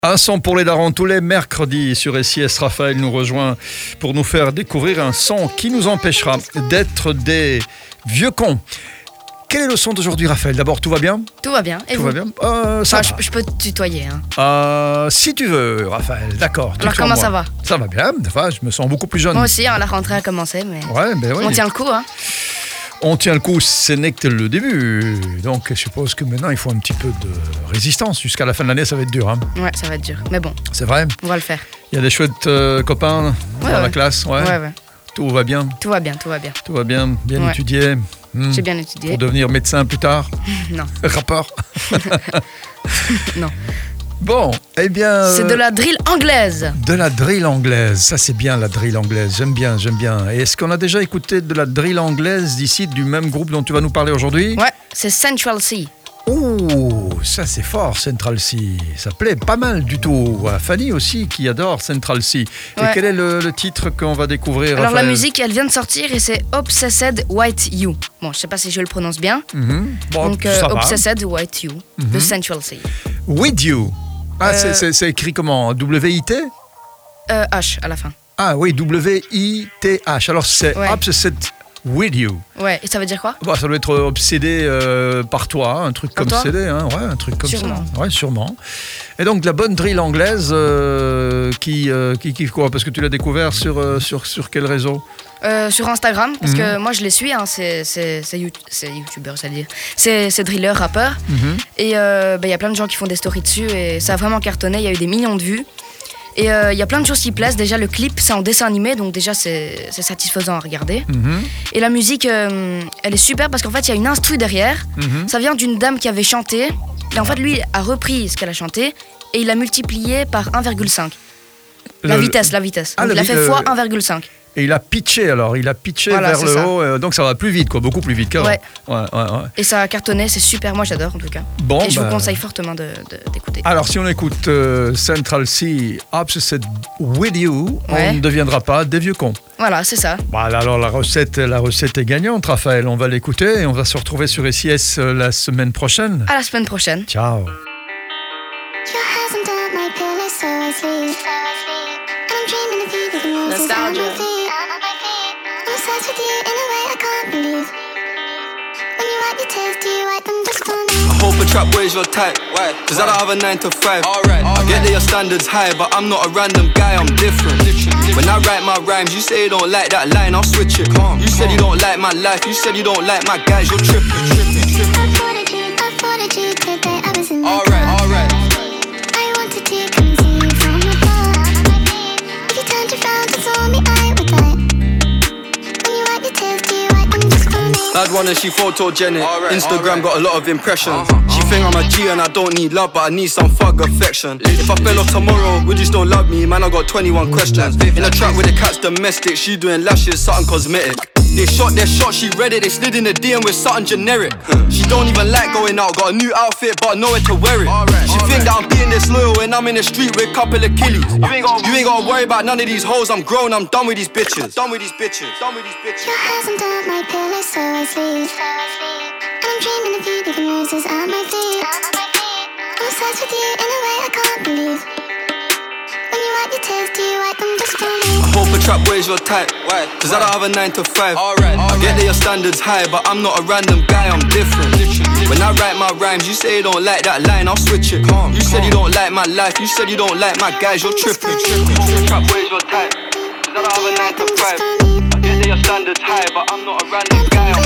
Un son pour les darons tous les mercredis sur SIS. Raphaël nous rejoint pour nous faire découvrir un son qui nous empêchera d'être des vieux cons. Quel est le son d'aujourd'hui, Raphaël? D'abord, tout va bien? Tout va bien. Et tout vous? va bien. Ça va. Je peux te tutoyer. Hein. Si tu veux, Raphaël. D'accord. Alors comment ça va? Ça va bien. Enfin, je me sens beaucoup plus jeune. Moi aussi, la rentrée a commencé, mais ouais, ben oui. on tient le coup. Hein. On tient le coup, ce n'est que le début. Donc, je suppose que maintenant, il faut un petit peu de résistance. Jusqu'à la fin de l'année, ça va être dur. Hein. Ouais, ça va être dur. Mais bon. C'est vrai? On va le faire. Il y a des chouettes copains dans la classe. Ouais. Tout va bien. Tout va bien, tout va bien. Tout va bien. Bien étudié. J'ai bien étudié. Pour devenir médecin plus tard? Non. Rapport? Non. Bon, eh bien... C'est de la drill anglaise. De la drill anglaise, ça c'est bien la drill anglaise, j'aime bien. Et est-ce qu'on a déjà écouté de la drill anglaise d'ici, du même groupe dont tu vas nous parler aujourd'hui? Ouais, c'est Central Cee. Oh, ça c'est fort, Central Cee. Ça plaît pas mal du tout. À Fanny aussi qui adore Central Cee. Et quel est le titre qu'on va découvrir? Alors Raphaël? la musique, elle vient de sortir et c'est Obsessed White You. Bon, je sais pas si je le prononce bien. Bon, donc Obsessed White You de Central Cee. With You. Ah, c'est écrit comment? W-I-T? H à la fin. Ah oui, W-I-T-H. Alors c'est Obsessed With You. Ouais, et ça veut dire quoi? Bah, ça doit être obsédé par toi, un truc comme CD, hein, ouais, un truc comme sûrement. Ça. Ouais, sûrement. Et donc de la bonne drill anglaise qui quoi? Parce que tu l'as découvert sur quel réseau? Sur Instagram, parce que moi je les suis, hein, c'est youtubeurs, c'est-à-dire. C'est drillers, rappeurs. Et il y a plein de gens qui font des stories dessus et ça a vraiment cartonné, il y a eu des millions de vues. Et il y a plein de choses qui plaisent. Déjà, le clip, c'est en dessin animé, donc déjà, c'est satisfaisant à regarder. Et la musique, elle est super parce qu'en fait, il y a une instru derrière. Ça vient d'une dame qui avait chanté. Et en fait, lui a repris ce qu'elle a chanté et il l'a multiplié par 1,5. La vitesse. Donc, il a fait fois 1,5. Et il a pitché alors, voilà, vers le haut, donc ça va plus vite, quoi, beaucoup plus vite qu'avant. Ouais. Et ça a cartonné, c'est super, moi j'adore en tout cas. Bon, et je vous conseille fortement d'écouter. Alors si on écoute Central Cee, Obsessed With You, on ne deviendra pas des vieux cons. Voilà, c'est ça. Voilà, alors la recette est gagnante, Raphaël, on va l'écouter et on va se retrouver sur SIS la semaine prochaine. À la semaine prochaine. Ciao. Nostalgia. I hope a trap boy's your type. Cause I don't have a 9 to 5. I get that your standards high, but I'm not a random guy, I'm different. When I write my rhymes, you say you don't like that line, I'll switch it. You said you don't like my life, you said you don't like my guys, you're tripping. I thought a G today, I was in the car. Alright. I wanted to come and see you from afar. If you turned around and saw me, I would die. When you wipe your tears, do you wipe them just for me? Bad one and she photogenic. Instagram got a lot of impressions. She think I'm a G and I don't need love, but I need some thug affection. If I fell off tomorrow, would you still love me? Man, I got 21 questions. In a trap with the cat's domestic, she doing lashes, something cosmetic. They shot their shot, she read it, they slid in the DM with something generic. She don't even like going out, got a new outfit but nowhere to wear it. She think that I'm being disloyal when I'm in the street with a couple of killies. You ain't gotta worry about none of these hoes, I'm grown, I'm done with these bitches. Your hair's under my pillow, so I sleep. And I'm dreaming of you, leaving roses at my feet. I'm obsessed with you in a way I can't believe. When you wipe your tears, do you wipe them just for me? I hope a trap boy's your type. Cause I don't have a 9 to 5. I get that your standards high, but I'm not a random guy, I'm different. When I write my rhymes, you say you don't like that line, I'll switch it. You said you don't like my life, you said you don't like my guys, you're tripping. Trap boy's your type. Cause I don't have a 9 to 5. I get that your standards high, but I'm not a random guy, I'm